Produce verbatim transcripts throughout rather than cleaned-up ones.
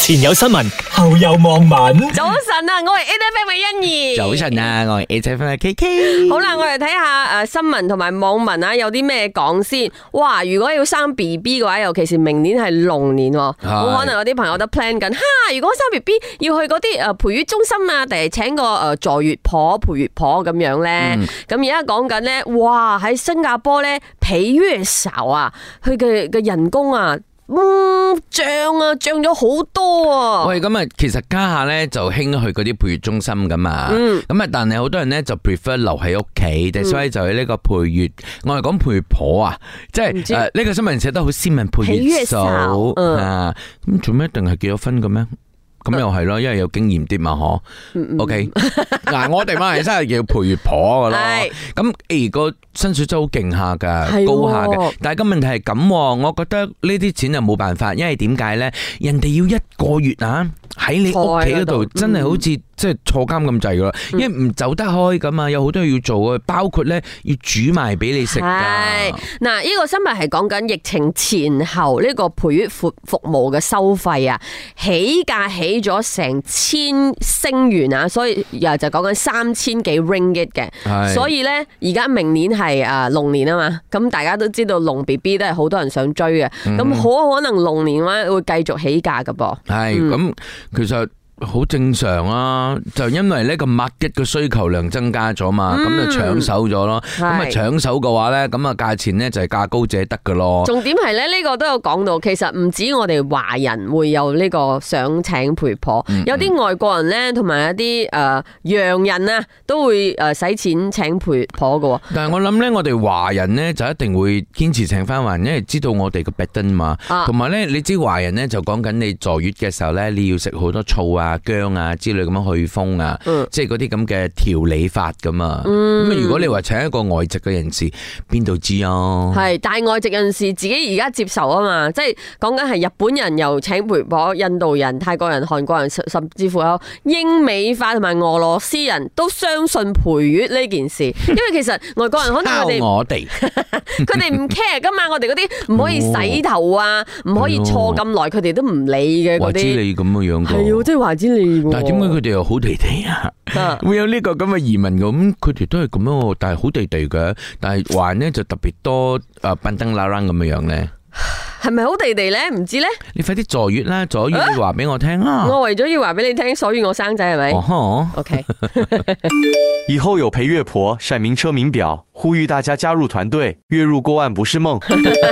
前有新聞，後有網民。 早晨啊，我係 A F M 嘅欣怡。 早晨啊，我係 A F M 嘅 K K。 好啦，我哋睇下誒新聞同埋網民啊，有啲咩講先。哇，如果要生 B B 嘅話，尤其是明年係龍年，好可能有啲朋友都 plan 緊。哈，如果生 B B 要去嗰啲誒陪月中心啊，定係請個誒坐月婆、陪月婆咁樣咧？咁而家講緊咧，哇喺新加坡咧，陪月嫂啊，佢嘅嘅人工啊。嗯，漲啊，漲咗好多啊！ 喂，咁啊，其實家下咧就興去嗰啲陪月中心噶嘛，咁啊、嗯，但係好多人咧就 prefer 留喺屋企，嗯、所以就係呢個陪月，我係講陪月婆啊，即係誒呢個新聞寫得好斯文，陪月嫂啊，咁做咩一定係結咗婚嘅咩？咁又係咯，因為有經驗啲嘛，嗬。O K， 嗱，我哋馬來西亞叫陪月婆噶咯。咁誒個薪水真係好勁下噶，高下嘅。但係個問題係咁，我覺得呢啲錢就冇辦法，因為點解咧？人哋要一個月啊，喺你屋企嗰度，真係好似即係坐監咁滯噶啦，因為唔走得開噶嘛，有好多嘢要做啊，包括咧要煮埋俾你食噶。 係嗱，呢個新聞係講緊疫情前後呢個陪月服服務嘅收費啊，起價起。起咗成千星元啊，所以又就講緊三千幾 ringgit 嘅，所以咧而家明年係誒龍年啊嘛，咁大家都知道龍 B B 都係好多人想追嘅，咁好、嗯、可能龍年咧會繼續起價噶噃。係咁、嗯，其實。好正常啊，就因為呢個 market 嘅需求量增加咗嘛，咁、嗯、就搶手咗咯。咁啊搶手嘅話咧，咁啊價錢咧就係價高者得噶咯。重點係咧呢個都有講到，其實唔止我哋華人會有呢個想請陪婆，嗯嗯有啲外國人咧同埋一啲誒洋人啊都會誒使錢請陪婆噶。但係我諗咧，我哋華人咧就一定會堅持請翻華人，因為知道我哋個 pattern 嘛。同埋咧，你知華人咧就講緊你坐月嘅時候咧，你要食好多醋啊。薑啊之類咁樣去風啊，嗯、即係嗰啲咁嘅調理法噶嘛。咁、嗯、如果你話請一個外籍嘅人士，邊度知啊？係，但係外籍人士自己而家接受啊嘛，即係講緊係日本人又請陪婆，印度人、泰國人、韓國人，甚至乎有英美化同埋俄羅斯人都相信陪月呢件事，因為其實外國人可能佢哋我哋佢哋唔 care 噶嘛，我哋嗰啲唔可以洗頭啊，唔、哦、可以坐咁耐，佢哋都唔理嘅嗰啲。話知你咁嘅樣，係啊，即係話知你。但係點解佢哋又好地地啊？會有呢個咁嘅移民咁，佢哋都係咁樣，但係好地地嘅。但係華人咧就特別多誒，笨登拉楞咁嘅樣咧。係咪好地地咧？唔知咧。你快啲坐月啦，坐月你話俾我聽啦。我為咗要話俾你聽，所以我生仔係咪？哦 OK。 以後有陪月婆閃名車名表，呼籲大家加入團隊，月入過萬不是夢。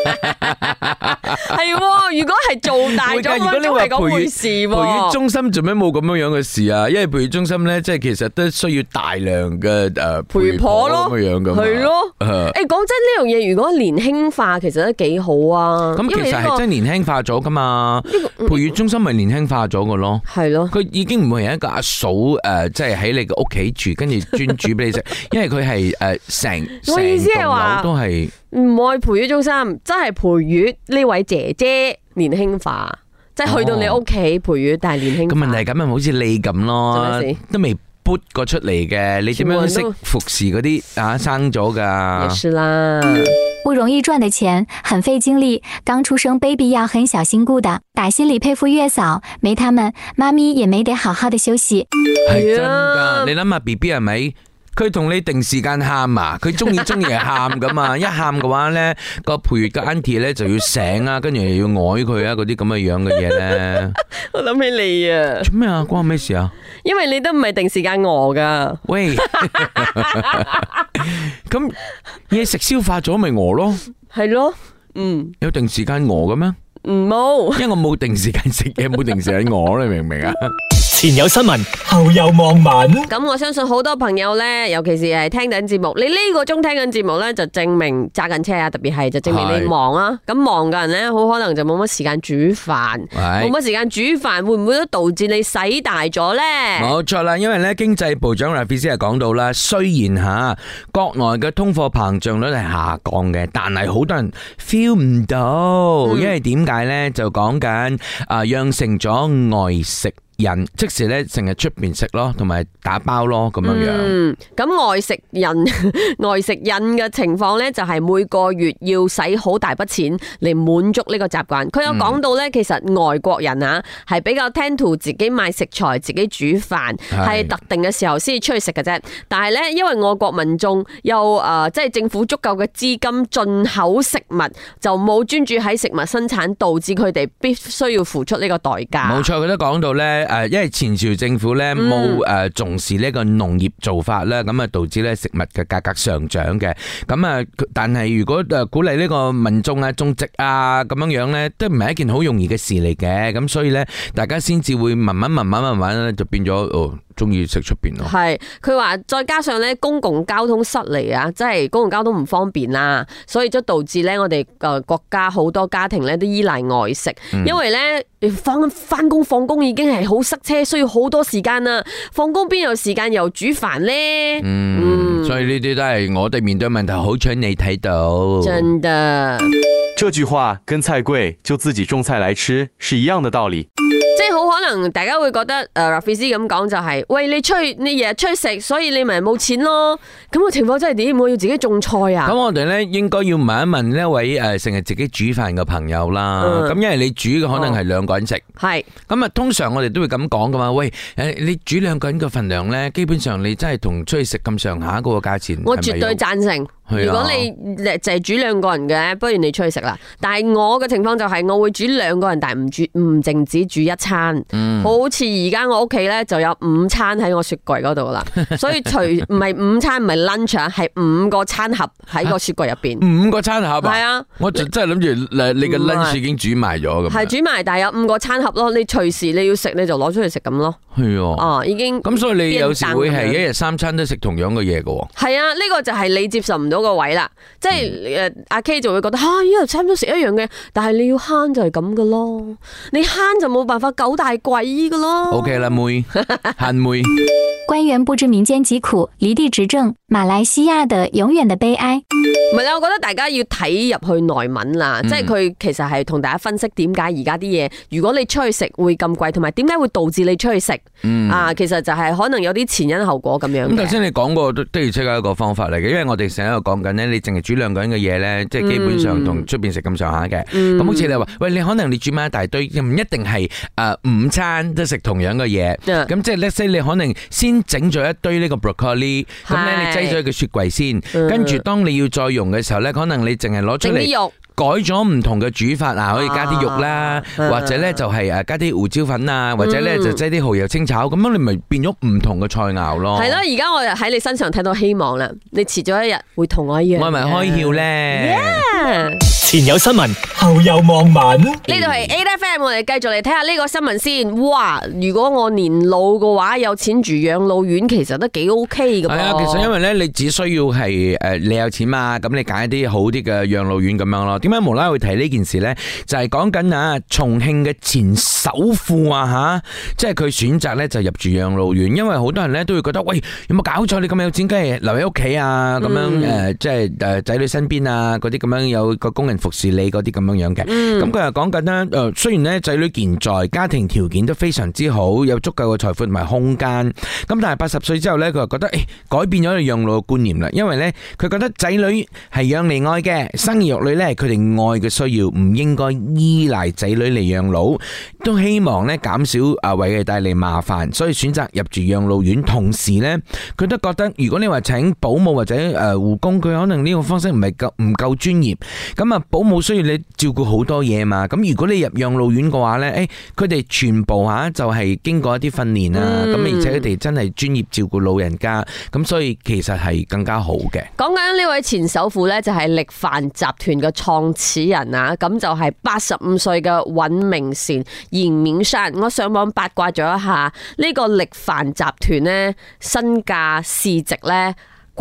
係，如果係做大咗，如果你話陪月事，陪月中心做咩冇咁樣樣嘅事啊？因為陪月中心咧，即係其實都需要大量嘅誒陪婆咯，咁樣樣噶嘛。係咯。誒，講真呢樣嘢，如果年輕化，其實都幾好啊。咁其實係真係年輕化咗噶嘛？陪月中心咪年輕化咗噶咯？係咯。佢已經唔會係一個阿嫂誒，即係喺你嘅屋企住，跟住專煮俾你食，因為佢係誒成成棟樓都係。唔愛陪月中心，真係陪月呢位姐姐年輕化，即係去到你屋企陪月，但係年輕化。咁問題咁咪好似你咁咯，都未撥過出嚟嘅，你點樣識服侍嗰啲啊生咗噶？也是啦， 不容易賺的錢，很費精力。剛出生 baby 要很小心顧的，打心裏佩服月嫂，沒他們，媽咪也沒得好好的休息。 係真噶，你諗下 B B 係咪？佢同你定時間喊啊！佢中意中意係喊噶嘛，一喊嘅話咧，個陪月嘅 auntie 咧就要醒啊，跟住又要愛佢啊，嗰啲咁嘅樣嘅嘢咧。我諗起你啊！做咩啊？關我咩事啊？因為你都唔係定時間餓噶。喂，咁嘢食消化咗咪餓咯？係咯，嗯。有定時間餓嘅咩？唔冇，因為我冇定時間食嘢，冇定時間餓，你明唔明啊？ 前有新聞，後有網民。 咁我相信好多朋友咧，尤其是係聽緊節目，你呢個鐘聽緊節目咧，就證明揸緊車啊，特別係就證明你忙啊。咁忙嘅人咧，好可能就冇乜時間煮飯，冇乜時間煮飯，會唔會都導致你使大咗咧？冇錯啦，因為咧經濟部長 Rafizi 係講到啦，雖然吓國內嘅通貨膨脹率係下降嘅，但係好多人 feel 唔到，因為點解咧？就講緊啊，養成咗外食癮，即時咧成日出邊食咯，同埋打包咯咁樣樣。 嗯，咁外食癮外食癮嘅情況咧，就係每個月要使好大筆錢嚟滿足呢個習慣。佢有講到咧，其實外國人啊係比較 tend to 自己買食材、自己煮飯，係特定嘅時候先至出去食嘅啫。但係咧，因為外國民眾有誒，即係政府足夠嘅資金進口食物，就冇專注喺食物生產，導致佢哋必須要付出呢個代價。 冇錯，佢都講到咧，誒，因為前朝政府咧冇誒重視呢個農業做法啦，咁啊導致咧食物嘅價格上漲嘅。咁啊，但係如果誒鼓勵呢個民眾啊種植啊咁樣樣咧，都唔係一件好容易嘅事嚟嘅。咁所以咧，大家先至會慢慢慢慢慢慢咧就變咗哦。中意食出邊咯，係佢話再加上咧公共交通失利啊，即係公共交通唔方便啦，所以就導致咧我哋誒國家好多家庭咧都依賴外食，嗯、因為咧翻翻工放工已經係好塞車，需要好多時間啦，放工邊有時間又煮飯咧？ 嗯，嗯所以呢啲都係我哋面對問題，好彩你睇到， 真的。 這句話跟菜貴就自己種菜來吃是一樣的道理。 即係好可能大家會覺得誒 Rafizi 咁講就係、是，喂你出去你日日出去食，所以你咪冇錢咯。咁個情況真係點？我要自己種菜啊！ 咁我哋咧應該要問一問呢位誒成日自己煮飯嘅朋友啦。咁、嗯、因為你煮嘅可能係兩個人食，係咁啊。通常我哋都會咁講噶嘛。喂，誒你煮兩個人嘅份量咧，基本上你真係同出去食咁上下嗰個價錢。 我絕對贊成。如果你淨係煮兩個人嘅，不如你出去食啦。但係我嘅情況就係我會煮兩個人，但係唔煮唔淨止煮一餐。嗯、好似而家我屋企咧就有五餐喺我雪櫃嗰度啦，所以除唔係五餐唔係 lunch 啊，係五個餐盒喺個雪櫃入邊。 五個餐盒啊？係啊，我就真係諗住你嘅 lunch 已經煮埋咗咁。 係煮埋，但係有五個餐盒咯。你隨時你要食你就攞出去食咁咯。係哦， 哦已經咁，所以你有時會係一日三餐都食同樣嘅嘢噶。係啊，呢、這個就係你接受唔到個位啦，即係誒阿 K 就會覺得吓一日餐都食一樣嘅，但係你要慳就係咁噶咯，你慳就冇辦法九大簋噶咯。 OK 啦，妹慳妹。 官員不知民間疾苦，離地執政，馬來西亞的永遠的悲哀。 唔係啦，我覺得大家要睇入去內文啦，嗯、即係佢其實係同大家分析點解而家啲嘢，如果你出去食會咁貴，同埋點解會導致你出去食、嗯、啊？其實就係可能有啲前因後果咁樣。咁頭先你講過都的而且確一個方法嚟嘅，因為我哋成日喺度講緊咧，你淨係煮兩個人嘅嘢咧，即係基本上同出邊食咁上下嘅。咁、嗯、好似你話，喂，你可能你煮埋一大堆，唔一定係誒午餐都食同樣嘅嘢。咁、嗯、即係 let's say 你可能先整咗一堆呢個 broccoli， 咁咧你擠咗喺個雪櫃先，嗯、跟住當你要再用嘅時候咧，可能你淨係攞出嚟改咗唔同嘅煮法啊，可以加啲肉啦，啊、或者咧就係誒加啲胡椒粉啊，或者咧就擠啲蠔油清炒，咁、嗯、樣你咪變咗唔同嘅菜肴咯。係咯， 而家我喺你身上睇到希望啦，你遲咗一日會同我一樣。 我係咪開竅咧？ Yeah! 前有新聞，後有網民。呢度係 A F M， 我哋繼續嚟睇下呢個新聞先。哇！如果我年老嘅話，有錢住養老院，其實都幾 OK 噶。係啊，其實因為咧，你只需要係誒，你有錢嘛，咁你揀一啲好啲嘅養老院咁樣咯。點解無啦啦會提呢件事咧？就係講緊啊，重慶嘅前首富啊吓，即係佢選擇咧就入住養老院，因為好多人咧都會覺得，喂，有冇搞錯？你咁有錢，梗係留喺屋企啊，咁樣誒、嗯，即係誒仔女身邊啊，嗰啲咁樣有個工人服侍你嗰啲咁樣樣嘅。咁佢又講緊啦，誒，雖然咧仔女健在，家庭條件都非常之好，有足夠嘅財富同埋空間，咁但係八十歲之後咧，佢又覺得誒、欸，改變咗佢養老嘅觀念啦，因為咧佢覺得仔女係養嚟愛嘅，生兒育女咧佢哋愛嘅需要，唔應該依賴仔女嚟養老，都希望咧減少啊為佢哋帶嚟麻煩，所以選擇入住養老院。同時咧，佢都覺得如果你話請保姆或者誒護工，佢可能呢個方式唔係夠唔夠專業，咁啊保姆需要你照顧好多嘢嘛，咁如果你入養老院嘅話咧，誒佢哋全部吓就係經過一啲訓練啊，咁、嗯、而且佢哋真係專業照顧老人家，咁所以其實係更加好嘅。 講緊呢位前首富咧，就係力帆集團嘅創始人啊，咁就係八十五歲嘅尹明善嚴勉山。我上網八卦咗一下，呢、這個力帆集團咧身價市值咧過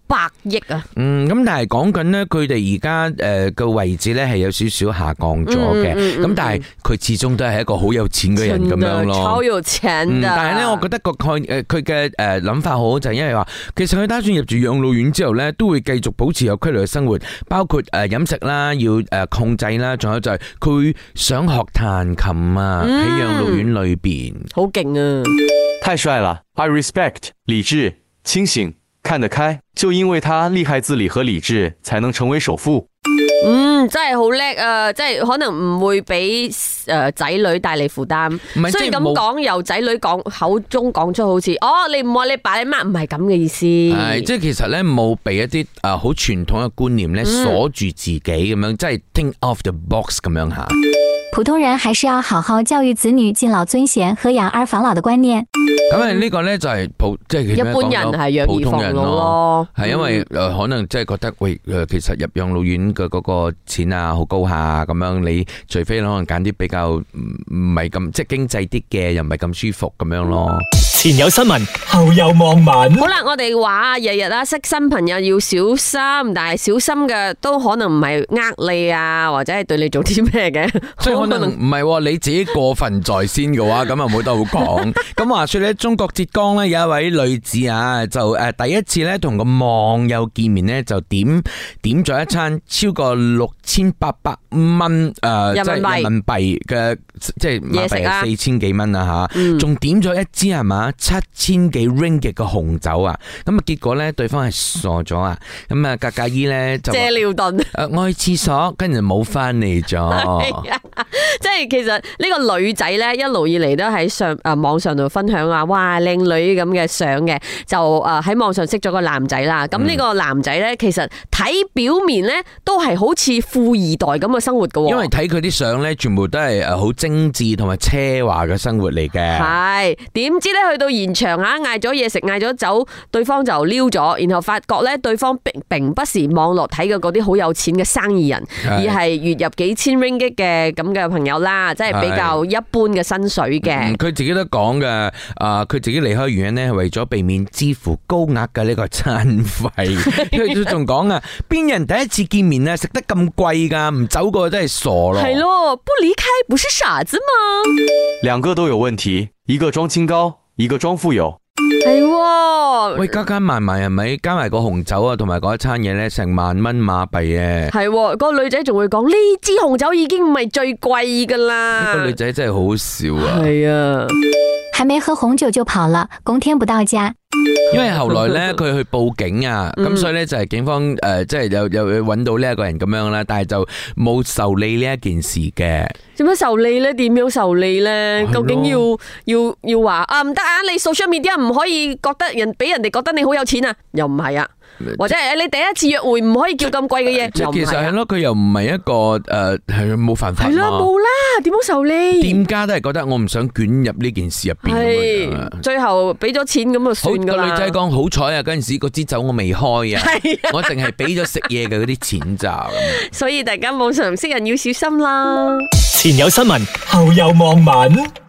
百億啊！ 嗯，咁但係講緊咧，佢哋而家誒個位置咧係有少少下降咗嘅，咁、嗯嗯、但係佢始終都係一個好有錢嘅人咁樣咯， 超有錢、嗯、 但係咧，我覺得個概誒佢嘅誒諗法好，就係因為話，其實佢打算入住養老院之後咧，都會繼續保持有規律嘅生活，包括誒飲食啦，要誒控制啦，仲有就係佢想學彈琴啊，喺養老院裏邊， 好勁啊！ 太帥了 ，I respect， 理智、清醒、看得開，就因為他厲害自理和理智，才能成為首富。 嗯，真係好叻啊！即係可能唔會俾誒仔女帶嚟負擔。雖然咁講，由仔女講口中講出好似哦，你唔愛你爸你媽，唔係咁嘅意思。 係即係其實咧冇俾一啲誒好傳統嘅觀念咧鎖住自己咁樣，即係 think off the box 咁樣吓。 普通人還是要好好教育子女敬老尊賢和養兒防老的觀念。 咁啊呢個咧就係普即係一般人係養兒防老咯， 係因為誒可能即係覺得喂誒其實入養老院嘅嗰個錢啊好高下咁樣，你除非可能揀啲比較唔唔係咁即係經濟啲嘅，又唔係咁舒服咁樣咯。 前有新聞，後有網民。 好啦，我哋話日日啊識新朋友要小心，但係小心嘅都可能唔係呃你啊，或者係對你做啲咩嘅。 即係可能唔係你自己過分在先嘅話，咁啊冇得好講。咁話說咧，中國浙江咧有一位女子啊，就誒第一次咧同個網友見面咧，就點點咗一餐超過六千八百蚊誒，即係人民幣嘅，即係馬幣係四千幾蚊啊吓，仲點咗一支係嘛？七千幾 ringgit 嘅紅酒啊，咁啊結果咧對方係傻咗啊，咁啊格格姨咧就借尿遁， 誒我去廁所，跟住冇翻嚟咗。 即係其實呢個女仔咧一路以嚟都喺上誒網上度分享啊，哇靚女咁嘅相嘅，就誒喺網上識咗個男仔啦。咁呢個男仔咧其實睇表面咧都係好似富二代咁嘅生活噶， 因為睇佢啲相咧全部都係誒好精緻同埋奢華嘅生活嚟嘅。係， 點知咧去到現場啊，嗌咗嘢食，嗌咗酒，對方就撩咗，然後發覺咧對方並並不是網絡睇嘅嗰啲好有錢嘅生意人，而係月入幾千 ringgit 嘅咁嘅朋友啦，即係比較一般嘅薪水嘅。 佢、嗯、自己都講嘅，啊、呃，佢自己離開原因咧係為咗避免支付高額嘅呢個餐費。佢仲講啊，邊人第一次見面啊食得咁貴噶，唔走過真係傻咯。 係咯，不離開不是傻子嗎？ 兩個都有問題，一個裝清高，一個裝富有。 係， 喂，加加埋埋係咪？加埋個紅酒啊，同埋嗰一餐嘢咧，成萬蚊馬幣嘅。 係，嗰個女仔仲會講呢支紅酒已經唔係最貴噶啦。 個女仔真係好笑啊！ 係啊， 還沒喝紅酒就跑了，公天不到家。 因為後來咧，佢去報警啊，咁、嗯、所以咧就係警方誒、呃，即係有有揾到呢一個人咁樣啦，但係就冇受理呢一件事嘅。 點樣受理咧？點樣受理咧？究竟要要要話啊唔得啊！你 social media 唔可以覺得人俾人哋覺得你好有錢啊？又唔係啊？或者係你第一次約會唔可以叫咁貴嘅嘢？ 即係其實係咯，佢又唔係一個誒係冇犯法。 係啦，冇啦，點樣受理？店家都係覺得我唔想捲入呢件事入邊。 係最後俾咗錢咁就算噶啦。個女仔講好彩啊，嗰陣時嗰支酒我未開啊，我淨係俾咗食嘢嘅嗰啲錢咋。所以大家網上識人要小心啦。 前有新聞，後有網民。